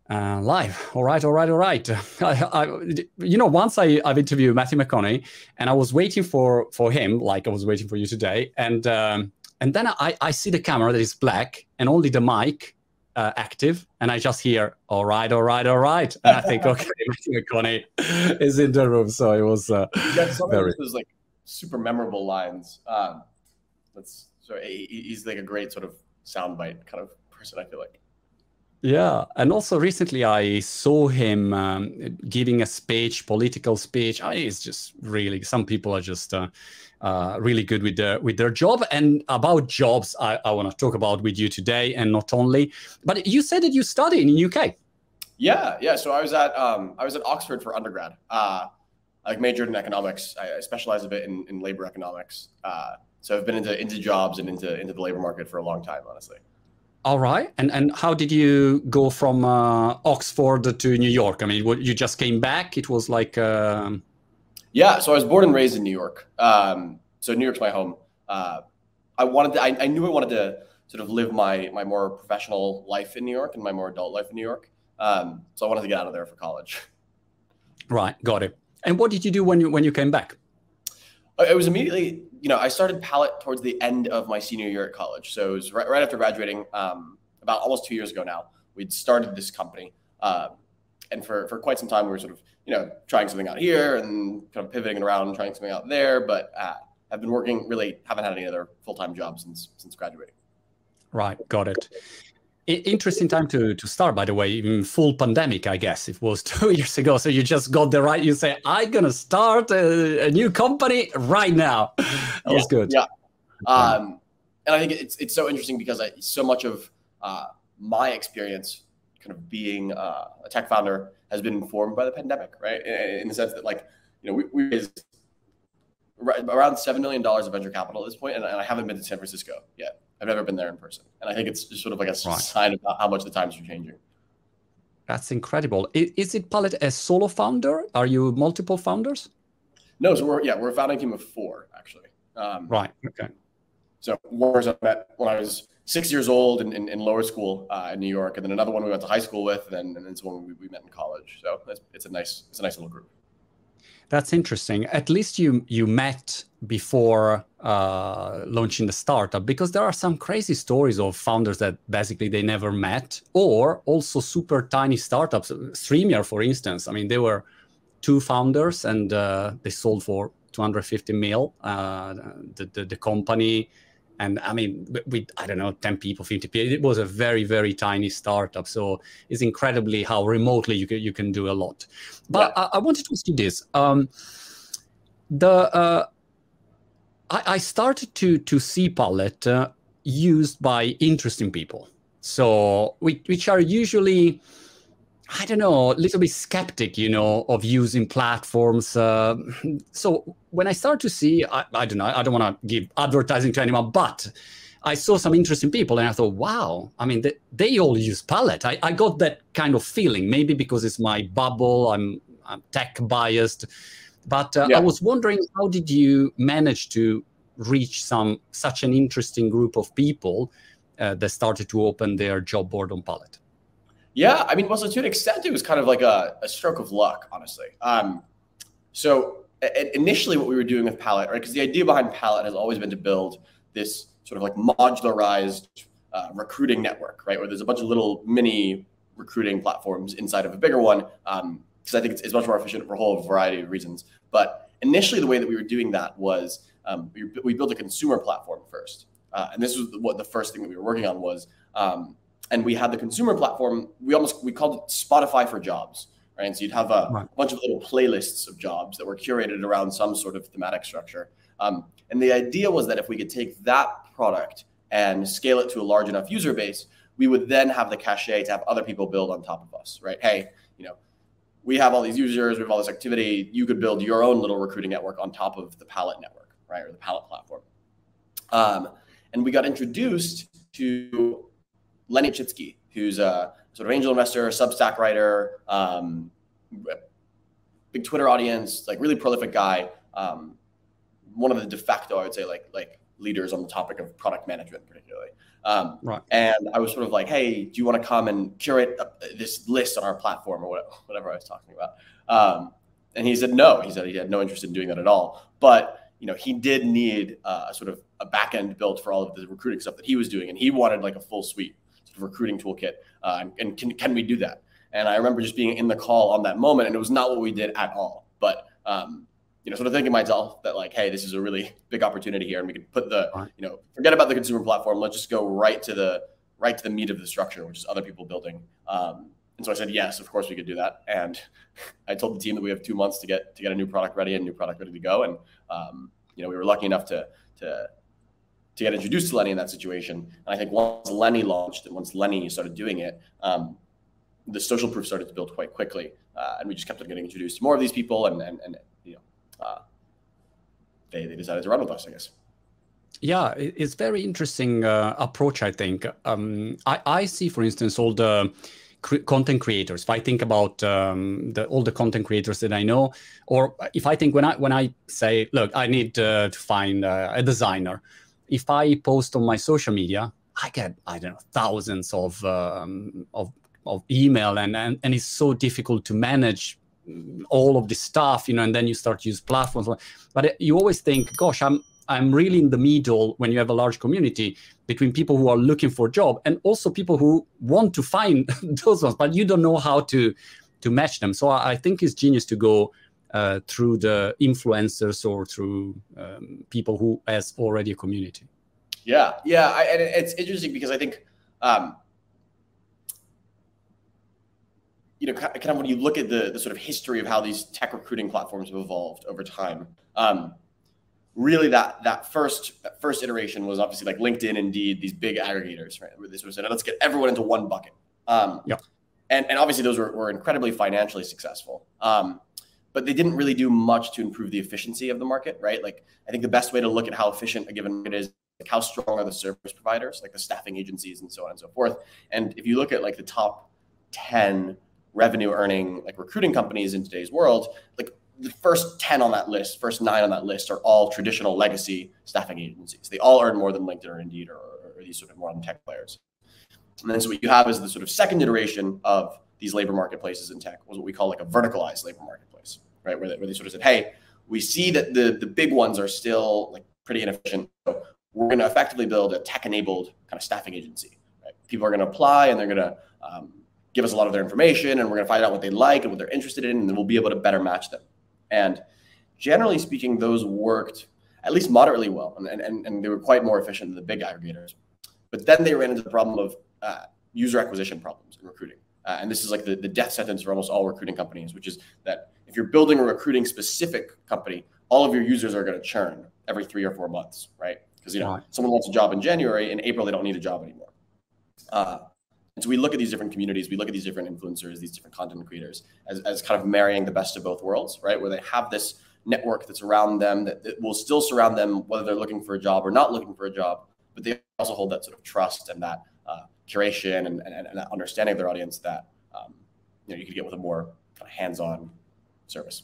Live. All right, all right, all right. Once I've interviewed Matthew McConaughey, and I was waiting for him, like I was waiting for you today, and then I see the camera that is black and only the mic active, and I just hear, all right, all right, all right, and I think, okay, Matthew McConaughey is in the room, so it was some very of those like super memorable lines. He's like a great sort of soundbite kind of person, I feel like. Yeah, and also recently I saw him giving a speech, political speech. It's just really, some people are just really good with their job. And about jobs, I want to talk about with you today, and not only. But you said that you study in UK. Yeah. So I was at Oxford for undergrad. I majored in economics. I specialized a bit in labor economics. So I've been into jobs and into the labor market for a long time, honestly. All right. And how did you go from Oxford to New York? I mean, you just came back? It was like... Yeah, so I was born and raised in New York. So New York's my home. I knew I wanted to sort of live my more professional life in New York and my more adult life in New York. So I wanted to get out of there for college. Right, got it. And what did you do when you came back? It was immediately, I started Pallet towards the end of my senior year at college. So it was right after graduating, about almost 2 years ago now. We'd started this company. And for quite some time, we were sort of, trying something out here and kind of pivoting around and trying something out there. But I've been working, really haven't had any other full-time jobs since graduating. Right, got it. Interesting time to start, by the way, even full pandemic, I guess it was 2 years ago. So you just got the right, you say, I'm going to start a new company right now. That was good. Yeah. And I think it's so interesting because so much of my experience kind of being a tech founder has been informed by the pandemic, right? In the sense that we raised around $7 million of venture capital at this point, and I haven't been to San Francisco yet. I've never been there in person. And I think it's just sort of like a sign of how much the times are changing. That's incredible. Is it Pallet a solo founder? Are you multiple founders? No, so we're a founding team of 4, actually. Right, okay. So one person I met when I was 6 years old in lower school in New York, and then another one we went to high school with, and then someone we met in college. So it's a nice little group. That's interesting. At least you met before launching the startup, because there are some crazy stories of founders that basically they never met, or also super tiny startups. Streamyard, for instance, I mean, they were 2 founders and they sold for 250 mil, the company. And I mean, with, I don't know, 10 people, 50 people, it was a very, very tiny startup. So it's incredibly how remotely you can do a lot. But yeah. I wanted to ask you this. I started to see Pallet used by interesting people. So which are usually, I don't know, a little bit skeptic, of using platforms. So when I start to see, I don't know, I don't want to give advertising to anyone, but I saw some interesting people and I thought, wow, I mean, they all use Pallet. I got that kind of feeling, maybe because it's my bubble, I'm tech biased. But I was wondering, how did you manage to reach such an interesting group of people that started to open their job board on Pallet? Yeah, I mean, well, so to an extent, it was kind of like a stroke of luck, honestly. So initially what we were doing with Pallet, right, because the idea behind Pallet has always been to build this sort of like modularized recruiting network, right, where there's a bunch of little mini recruiting platforms inside of a bigger one, because I think it's much more efficient for a whole variety of reasons. But initially, the way that we were doing that was we built a consumer platform first. And this was what the first thing that we were working on was, and we had the consumer platform, we called it Spotify for Jobs, right? And so you'd have a bunch of little playlists of jobs that were curated around some sort of thematic structure. And the idea was that if we could take that product and scale it to a large enough user base, we would then have the cachet to have other people build on top of us, right? Hey, we have all these users, we have all this activity, you could build your own little recruiting network on top of the Pallet network, right? Or the Pallet platform. And we got introduced to Lenny Chitsky, who's a sort of angel investor, Substack writer, big Twitter audience, like really prolific guy. One of the de facto, I would say, like leaders on the topic of product management, particularly. Right. And I was sort of like, hey, do you want to come and curate this list on our platform or whatever I was talking about? And he said no. He said he had no interest in doing that at all. But he did need a sort of a back end built for all of the recruiting stuff that he was doing, and he wanted like a full suite sort of recruiting toolkit. And can we do that? And I remember just being in the call on that moment, and it was not what we did at all. But sort of thinking to myself that like, hey, this is a really big opportunity here, and we could put the forget about the consumer platform. Let's just go right to the meat of the structure, which is other people building. And so I said, yes, of course we could do that. And I told the team that we have 2 months to get a new product ready and new product ready to go. And we were lucky enough to get introduced to Lenny in that situation. And I think once Lenny launched and once Lenny started doing it, the social proof started to build quite quickly. And we just kept on getting introduced to more of these people, and they decided to run with us, I guess. Yeah, it's very interesting approach, I think. I see, for instance, all the content creators. If I think about all the content creators that I know, or if I think when I say, look, I need to find a designer, if I post on my social media, I get, I don't know, thousands of email, and it's so difficult to manage all of this stuff, and then you start to use platforms. But you always think, gosh, I'm really in the middle when you have a large community between people who are looking for a job and also people who want to find those ones, but you don't know how to match them. So I think it's genius to go through the influencers or through people who has already a community. Yeah. And it's interesting because I think, kind of when you look at the sort of history of how these tech recruiting platforms have evolved over time, really that first iteration was obviously like LinkedIn, Indeed, these big aggregators, right? Where they sort of said, let's get everyone into one bucket. And obviously those were incredibly financially successful. But they didn't really do much to improve the efficiency of the market, right? Like, I think the best way to look at how efficient a given market is, like, how strong are the service providers, like the staffing agencies and so on and so forth. And if you look at like the top 10 revenue earning like recruiting companies in today's world, like the first 10 on that list, first 9 on that list are all traditional legacy staffing agencies. They all earn more than LinkedIn or Indeed or these sort of modern tech players. And then so what you have is the sort of second iteration of these labor marketplaces in tech was what we call like a verticalized labor marketplace, right? Where they sort of said, hey, we see that the big ones are still like pretty inefficient. So we're going to effectively build a tech-enabled kind of staffing agency. Right? People are going to apply and they're going to give us a lot of their information, and we're going to find out what they like and what they're interested in, and then we'll be able to better match them. And generally speaking, those worked at least moderately well, and they were quite more efficient than the big aggregators. But then they ran into the problem of user acquisition problems in recruiting. And this is like the death sentence for almost all recruiting companies, which is that if you're building a recruiting specific company, all of your users are going to churn every 3 or 4 months, right? Because someone wants a job in January, in April they don't need a job anymore. And so we look at these different communities, we look at these different influencers, these different content creators as kind of marrying the best of both worlds, right? Where they have this network that's around them that will still surround them whether they're looking for a job or not looking for a job, but they also hold that sort of trust and that curation and that understanding of their audience that you could get with a more kind of hands-on service.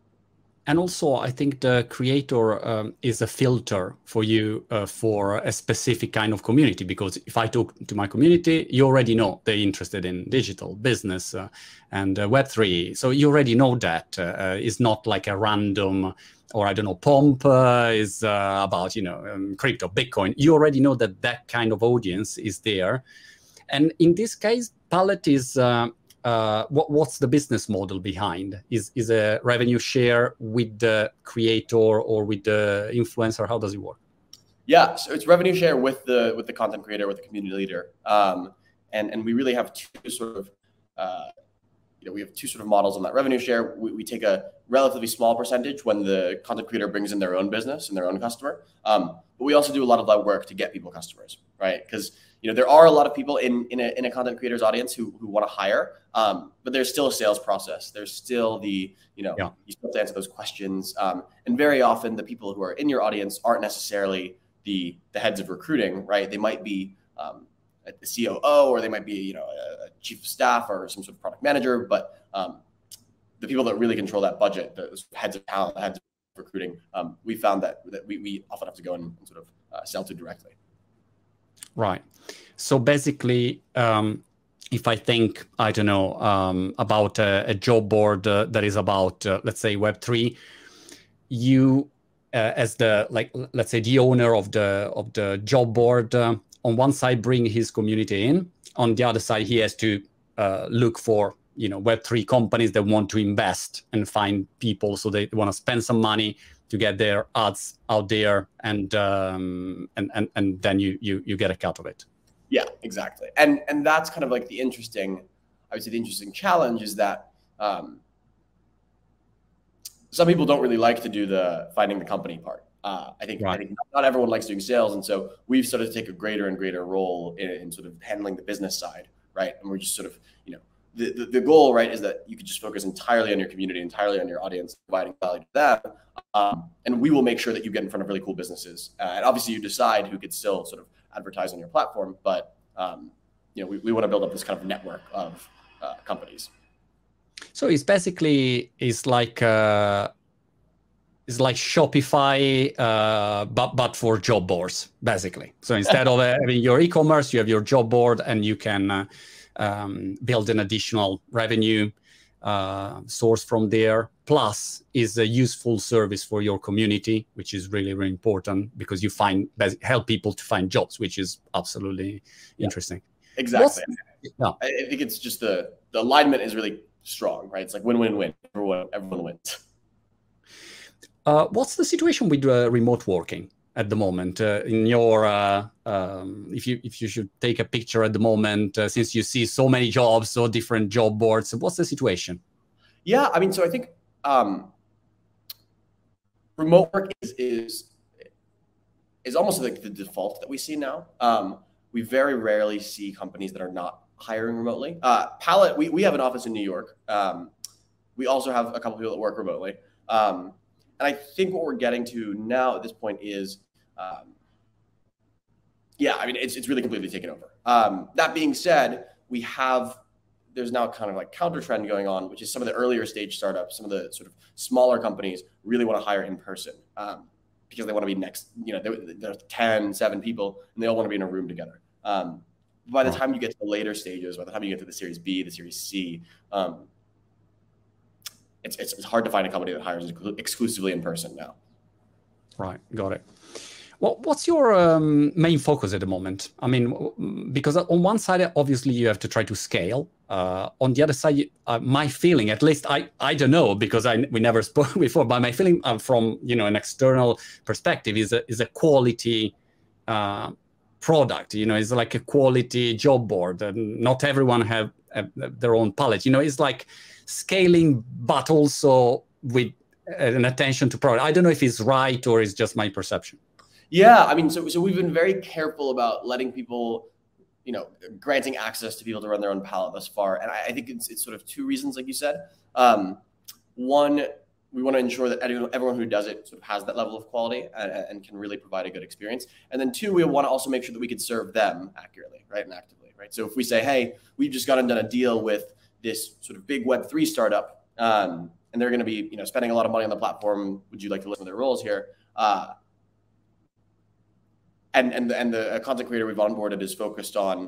And also, I think the creator is a filter for you for a specific kind of community, because if I talk to my community, you already know they're interested in digital business and Web3. So you already know that it's not like a random, or I don't know, Pomp is about, crypto, Bitcoin. You already know that kind of audience is there. And in this case, Pallet is... what's the business model behind? Is a revenue share with the creator or with the influencer? How does it work? Yeah, so it's revenue share with the content creator, with the community leader, and we really have two sort of models on that revenue share. We take a relatively small percentage when the content creator brings in their own business and their own customer, but we also do a lot of that work to get people customers, right? Because there are a lot of people in a content creator's audience who want to hire, but there's still a sales process. There's still you still have to answer those questions. And very often the people who are in your audience aren't necessarily the heads of recruiting, right? They might be a COO, or they might be, a chief of staff or some sort of product manager. But the people that really control that budget, the heads of talent, the heads of recruiting, we found that we often have to go and sort of sell to directly. Right. So basically, if I think, I don't know, about a job board that is about, let's say, Web3, you, as the, like, let's say, the owner of the job board, on one side bring his community in, on the other side he has to look for, Web3 companies that want to invest and find people, so they want to spend some money to get their ads out there, and then you get a cut of it. Yeah, exactly. And that's kind of like the interesting challenge is that some people don't really like to do the finding the company part. I think not everyone likes doing sales, and so we've started to take a greater and greater role in sort of handling the business side, right? And we're just sort of, the goal, right, is that you could just focus entirely on your community, entirely on your audience, providing value to them, and we will make sure that you get in front of really cool businesses. And obviously, you decide who could still sort of advertise on your platform, but we want to build up this kind of network of companies. So it's basically like Shopify, but for job boards, basically. So instead of having your e-commerce, you have your job board, and you can build an additional revenue source from there. Plus, is a useful service for your community, which is really, really important, because you help people to find jobs, which is absolutely interesting. Exactly. I think it's just the alignment is really strong, right? It's like win-win-win. Everyone wins. What's the situation with remote working at the moment? In your, if you should take a picture at the moment, since you see so many jobs, so different job boards, what's the situation? Yeah, I mean, so I think remote work is almost like the default that we see now. We very rarely see companies that are not hiring remotely. Pallet, we have an office in New York. We also have a couple people that work remotely. And I think what we're getting to now at this point is, I mean, it's really completely taken over. That being said, there's now kind of like counter trend going on, which is some of the earlier stage startups, some of the sort of smaller companies really want to hire in person because they want to be next, there's 10, 7 people, and they all want to be in a room together. By the time you get to the later stages, by the time you get to the Series B, the Series C, it's hard to find a company that hires exclusively in person now. Right, got it. Well, what's your main focus at the moment? I mean, because on one side, obviously, you have to try to scale. On the other side, my feeling, at least I don't know, because we never spoke before, but my feeling from an external perspective is a quality product. It's like a quality job board, and not everyone have their own palette. It's like scaling, but also with an attention to product. I don't know if it's right or it's just my perception. Yeah, I mean, so we've been very careful about letting people, granting access to people to run their own palette thus far. And I think it's sort of 2 reasons, like you said. One, we want to ensure that everyone who does it sort of has that level of quality and can really provide a good experience. And then 2, we want to also make sure that we can serve them accurately, right, and actively, right? So if we say, hey, we've just gone and done a deal with this sort of big Web3 startup, and they're going to be, spending a lot of money on the platform. Would you like to listen to their roles here? And the content creator we've onboarded is focused on,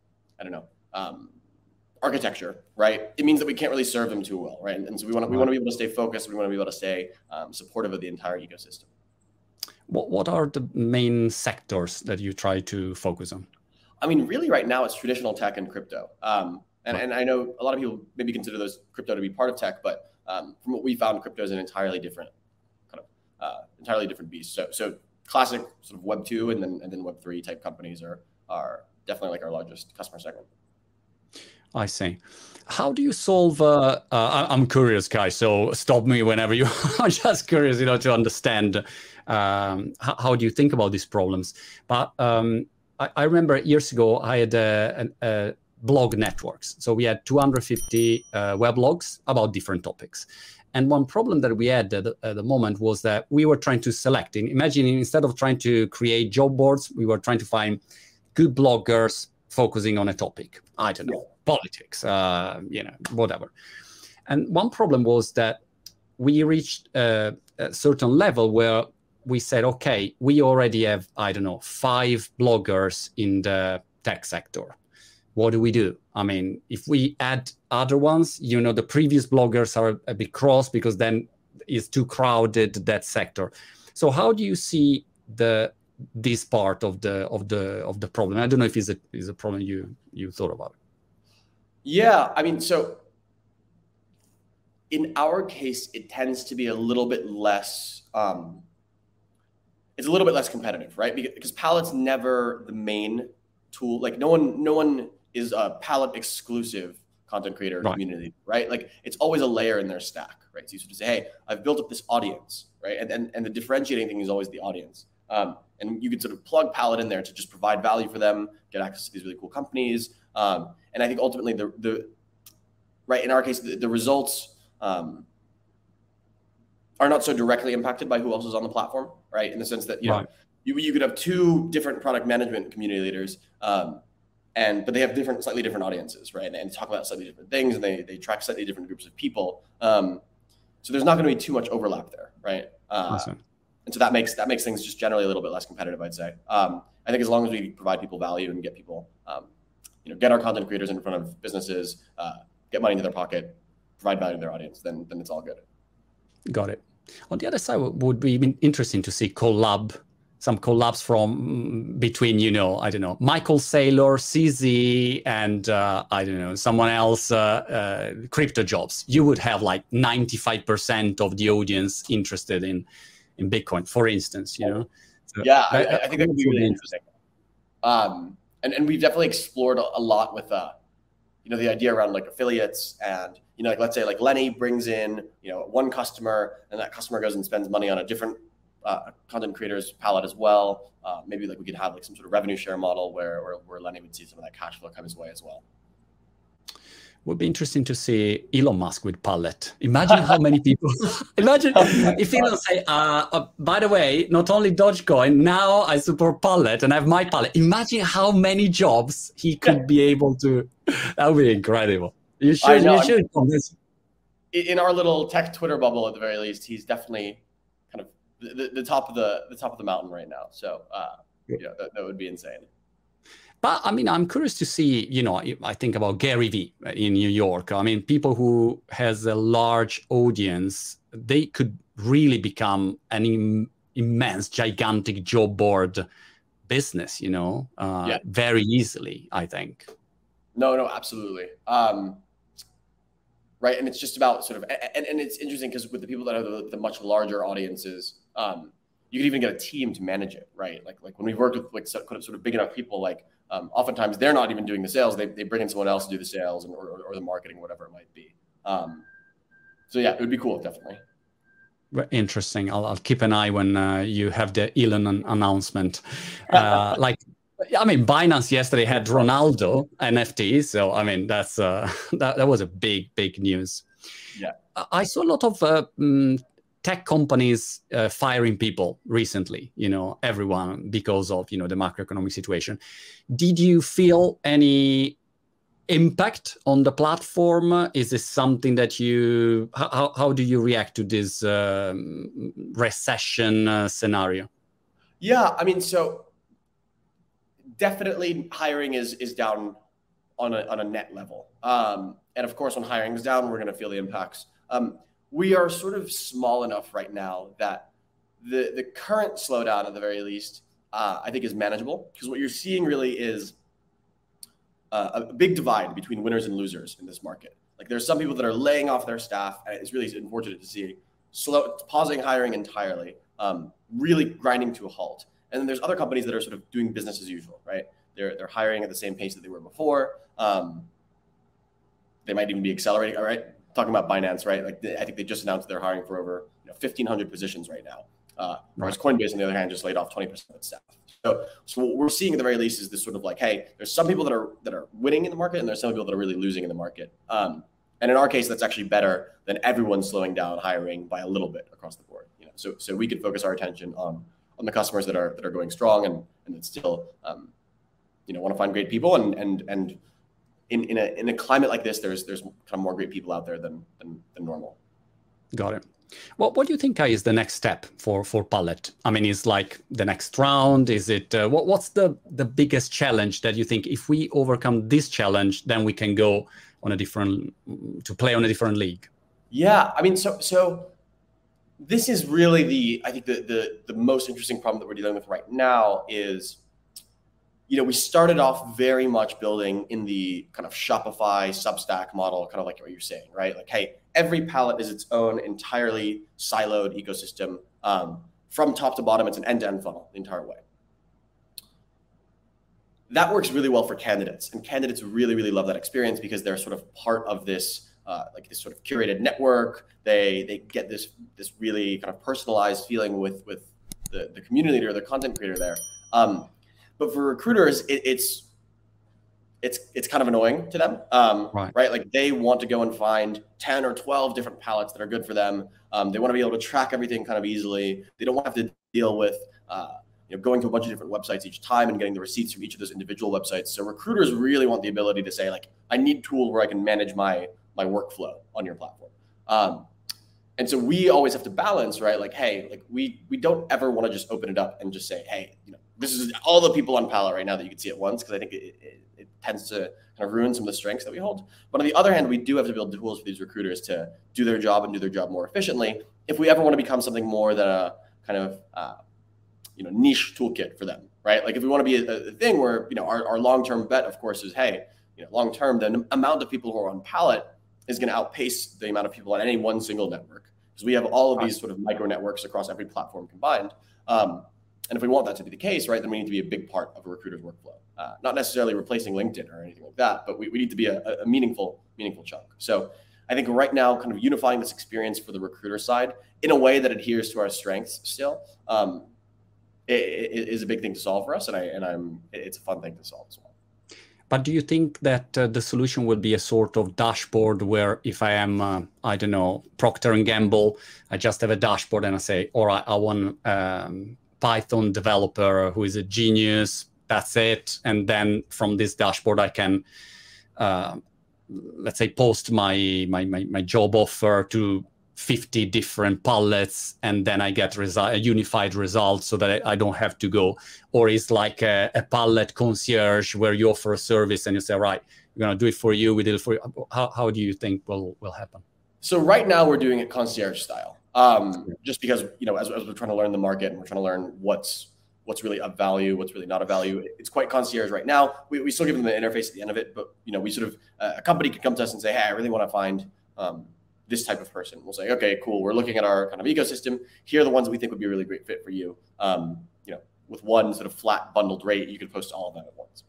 architecture, right? It means that we can't really serve them too well, right? And so we want to be able to stay focused. We want to be able to stay supportive of the entire ecosystem. What are the main sectors that you try to focus on? I mean, really, right now it's traditional tech and crypto. And I know a lot of people maybe consider those crypto to be part of tech, but from what we found, crypto is an entirely different beast. So classic sort of Web 2 and then Web 3 type companies are definitely like our largest customer segment. I see. How do you solve? I'm curious, Kai. So stop me whenever you are just curious, to understand how do you think about these problems. But I remember years ago I had a blog networks. So we had 250 weblogs about different topics. And one problem that we had at the moment was that we were trying to select. Imagine instead of trying to create job boards, we were trying to find good bloggers focusing on a topic. I don't know, politics, whatever. And one problem was that we reached a certain level where we said, okay, we already have, I don't know, 5 bloggers in the tech sector. What do we do? I mean, if we add other ones, the previous bloggers are a bit cross because then it's too crowded, that sector. So how do you see this part of the problem? I don't know if it's a problem you thought about. Yeah, I mean, so in our case, it tends to be a little bit less. It's a little bit less competitive, right? Because Pallet's never the main tool. Like no one is a Pallet exclusive content creator community, right? Like it's always a layer in their stack, right? So you sort of say, hey, I've built up this audience, right? And the differentiating thing is always the audience. And you can sort of plug Pallet in there to just provide value for them, get access to these really cool companies. And I think ultimately the right, in our case, the results are not so directly impacted by who else is on the platform, right? In the sense that, you could have 2 different product management community leaders, but they have slightly different audiences, right? And talk about slightly different things, and they track slightly different groups of people. So there's not going to be too much overlap there, right? Awesome. And so that makes things just generally a little bit less competitive, I'd say. I think as long as we provide people value and get people, get our content creators in front of businesses, get money into their pocket, provide value to their audience, then it's all good. Got it. On the other side, would be interesting to see some collabs from between, I don't know, Michael Saylor, CZ, and I don't know, someone else, Crypto Jobs. You would have like 95% of the audience interested in Bitcoin, for instance, So yeah, I think that would be really interesting. And we've definitely explored a lot with, the idea around like affiliates and, like let's say like Lenny brings in, one customer, and that customer goes and spends money on a different content creator's Pallet as well. Maybe like we could have like some sort of revenue share model where Lenny would see some of that cash flow come his way as well. Would be interesting to see Elon Musk with Pallet. Imagine how many people. Imagine if Elon say, by the way, not only Dogecoin, now I support Pallet and I have my Pallet. Imagine how many jobs he could be able to. That would be incredible. You should. In our little tech Twitter bubble, at the very least, he's definitely kind of the top of the mountain right now. So that would be insane. But I mean, I'm curious to see, I think about Gary Vee in New York. I mean, people who has a large audience, they could really become an immense, gigantic job board business, very easily, I think. No, absolutely. Right. And it's just about sort of, and it's interesting because with the people that have the much larger audiences, you could even get a team to manage it, right? Like when we've worked with like sort of big enough people, like oftentimes they're not even doing the sales. They bring in someone else to do the sales or the marketing, whatever it might be. So yeah, it would be cool, definitely. Interesting. I'll keep an eye when you have the Elon announcement. Binance yesterday had Ronaldo NFT. So, I mean, that was a big news. Yeah. I saw a lot of tech companies firing people recently, everyone, because of, the macroeconomic situation. Did you feel any impact on the platform? Is this something that how do you react to this recession scenario? Yeah, I mean, so definitely hiring is down on a net level. And of course, when hiring is down, we're going to feel the impacts. We are sort of small enough right now that the current slowdown, at the very least, I think is manageable, because what you're seeing really is a big divide between winners and losers in this market. Like there's some people that are laying off their staff, and it's really unfortunate to see pausing hiring entirely, really grinding to a halt. And then there's other companies that are sort of doing business as usual, right? They're hiring at the same pace that they were before. They might even be accelerating. All right, talking about Binance, right? Like I think they just announced they're hiring for over 1,500 positions right now. Whereas Coinbase, on the other hand, just laid off 20% of its staff. So what we're seeing at the very least is this sort of like, hey, there's some people that are winning in the market, and there's some people that are really losing in the market. And in our case, that's actually better than everyone slowing down hiring by a little bit across the board. So we could focus our attention on the customers that are going strong and that still want to find great people, and in a climate like this, there's kind of more great people out there than normal. Got it. Well, what do you think is the next step for Pallet? I mean, is like the next round? Is it what's the biggest challenge that you think if we overcome this challenge, then we can go on a different to play on a different league? Yeah, I mean, so this is really I think the most interesting problem that we're dealing with right now is, we started off very much building in the kind of Shopify Substack model, kind of like what you're saying, right? Like, hey, every pallet is its own entirely siloed ecosystem. From top to bottom, it's an end-to-end funnel the entire way. That works really well for candidates, and candidates really, really love that experience because they're sort of part of this, like this sort of curated network. They get this really kind of personalized feeling with the community leader, the content creator there. But for recruiters, it's kind of annoying to them, right? Like they want to go and find 10 or 12 different pallets that are good for them. They want to be able to track everything kind of easily. They don't want to have to deal with going to a bunch of different websites each time and getting the receipts from each of those individual websites. So recruiters really want the ability to say, like, I need a tool where I can manage my workflow on your platform. And so we always have to balance, right? Like, hey, like we don't ever want to just open it up and just say, hey, this is all the people on Pallet right now that you can see at once, because I think it tends to kind of ruin some of the strengths that we hold. But on the other hand, we do have to build tools for these recruiters to do their job and do their job more efficiently if we ever want to become something more than a kind of niche toolkit for them, right? Like if we want to be a thing where our long-term bet, of course, is, hey, long-term, the amount of people who are on Pallet is going to outpace the amount of people on any one single network, because we have all of these sort of micro networks across every platform combined. And if we want that to be the case, right, then we need to be a big part of a recruiter's workflow. Not necessarily replacing LinkedIn or anything like that, but we need to be a meaningful chunk. So I think right now, kind of unifying this experience for the recruiter side in a way that adheres to our strengths still is a big thing to solve for us, and it's a fun thing to solve as well. But do you think that the solution will be a sort of dashboard where if I am, I don't know, Procter & Gamble, I just have a dashboard and I say, all right, I want Python developer who is a genius, that's it. And then from this dashboard, I can, let's say, post my job offer to 50 different pallets, and then I get a unified result so that I don't have to go. Or it's like a pallet concierge where you offer a service and you say, right, we're going to do it for you, we did it for you. How do you think will happen? So right now we're doing it concierge style. Just because, as we're trying to learn the market and we're trying to learn what's really of value, what's really not of value, it's quite concierge right now. We still give them the interface at the end of it, but, we sort of, a company could come to us and say, hey, I really want to find this type of person. We'll say, okay, cool. We're looking at our kind of ecosystem. Here are the ones that we think would be a really great fit for you. With one sort of flat bundled rate, you could post all of them at once.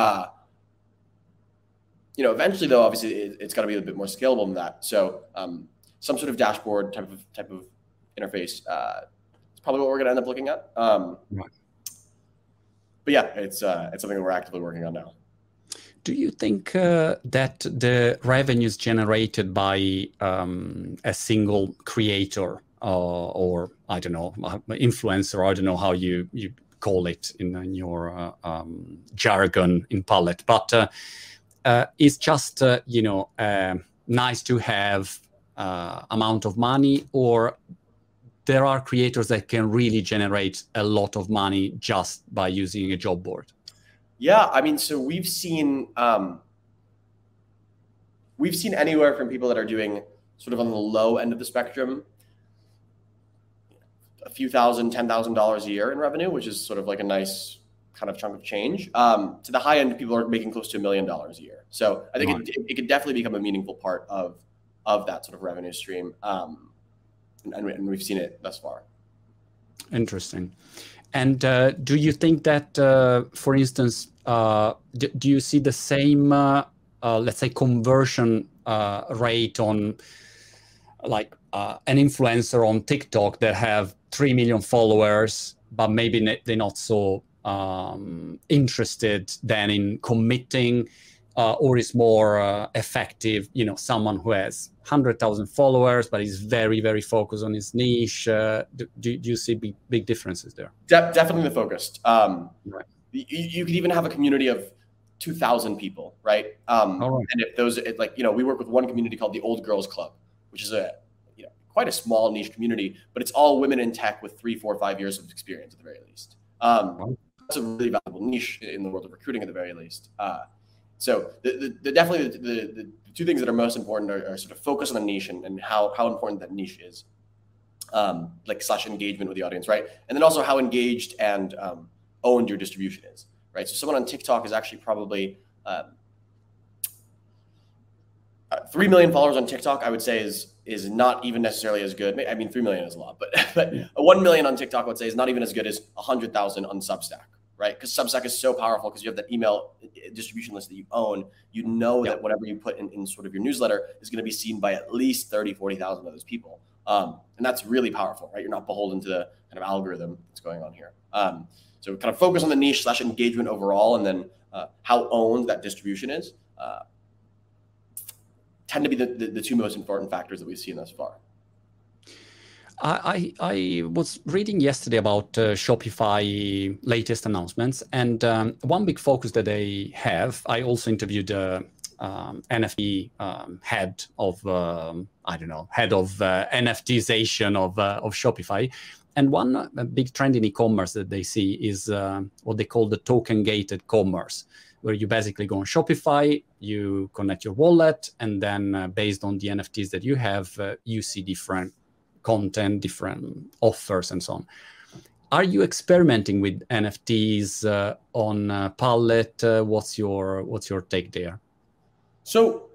Eventually though, obviously it's got to be a bit more scalable than that. So, some sort of dashboard type of interface is probably what we're going to end up looking at. But yeah, it's something that we're actively working on now. Do you think that the revenues generated by a single creator or I don't know, influencer, I don't know how you call it in your jargon in Pallet, but it's just nice to have amount of money, or there are creators that can really generate a lot of money just by using a job board? Yeah, I mean, so we've seen anywhere from people that are doing sort of on the low end of the spectrum, a few thousand, $10,000 a year in revenue, which is sort of like a nice kind of chunk of change, to the high end, people are making close to $1 million a year. So I think it could definitely become a meaningful part of that sort of revenue stream, and we've seen it thus far. Interesting. And do you think that, for instance, do you see the same, let's say, conversion rate on like an influencer on TikTok that have 3 million followers, but maybe they're not so interested then in committing, or is more effective, someone who has 100,000 followers, but is very, very focused on his niche? Do you see big differences there? Definitely the focused. Right. You could even have a community of 2,000 people, right? Right. And if those, we work with one community called the Old Girls Club, which is a quite a small niche community, but it's all women in tech with 3, 4, 5 years of experience at the very least. That's a really valuable niche in the world of recruiting at the very least. So definitely the two things that are most important are sort of focus on the niche and how important that niche is, / engagement with the audience, right? And then also how engaged and owned your distribution is, right? So someone on TikTok is actually probably 3 million followers on TikTok, I would say is not even necessarily as good. I mean, 3 million is a lot, but 1 million on TikTok, I would say, is not even as good as 100,000 on Substack, right? Because Substack is so powerful because you have that email distribution list that you own. You know that whatever you put in sort of your newsletter is going to be seen by at least 30, 40,000 of those people. And that's really powerful, right? You're not beholden to the kind of algorithm that's going on here. So kind of focus on the niche / engagement overall, and then how owned that distribution is. Tend to be the two most important factors that we've seen thus far. I was reading yesterday about Shopify latest announcements, and one big focus that they have. I also interviewed NFT head of NFTization of Shopify, and one big trend in e-commerce that they see is what they call the token-gated commerce, where you basically go on Shopify, you connect your wallet, and then based on the NFTs that you have, you see different content, different offers, and so on. Are you experimenting with NFTs on Pallet? What's your take there? So,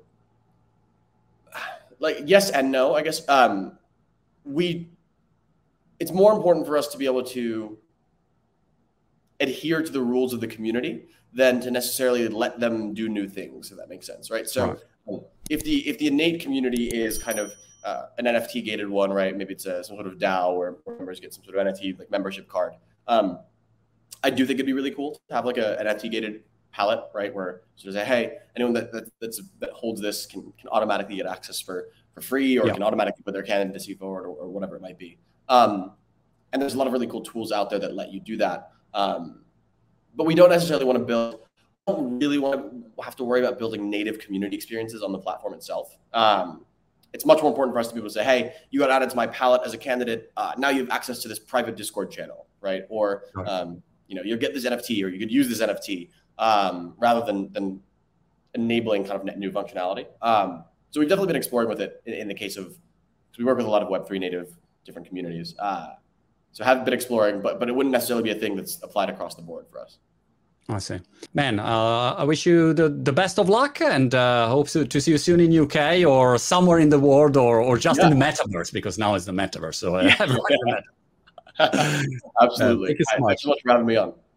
yes and no, I guess. It's more important for us to be able to adhere to the rules of the community than to necessarily let them do new things, if that makes sense, right? So if the innate community is kind of an NFT gated one, right? Maybe it's some sort of DAO where members get some sort of NFT like membership card. I do think it'd be really cool to have like an NFT gated palette, right? Where sort of say, hey, anyone that holds this can automatically get access for free, or can automatically put their candidacy forward, or whatever it might be. And there's a lot of really cool tools out there that let you do that. But we don't necessarily want to don't really want to have to worry about building native community experiences on the platform itself. It's much more important for us to be able to say, hey, you got added to my palette as a candidate. Now you have access to this private Discord channel, right? Or, you'll get this NFT, or you could use this NFT, rather than enabling kind of net new functionality. So we've definitely been exploring with it in the case of, because we work with a lot of Web3 native different communities. So have been exploring, but it wouldn't necessarily be a thing that's applied across the board for us. I see. Man, I wish you the best of luck, and hope to see you soon in UK or somewhere in the world, or just in the metaverse, because now it's the metaverse. So Absolutely. Thank you so much. Thanks so much for having me on.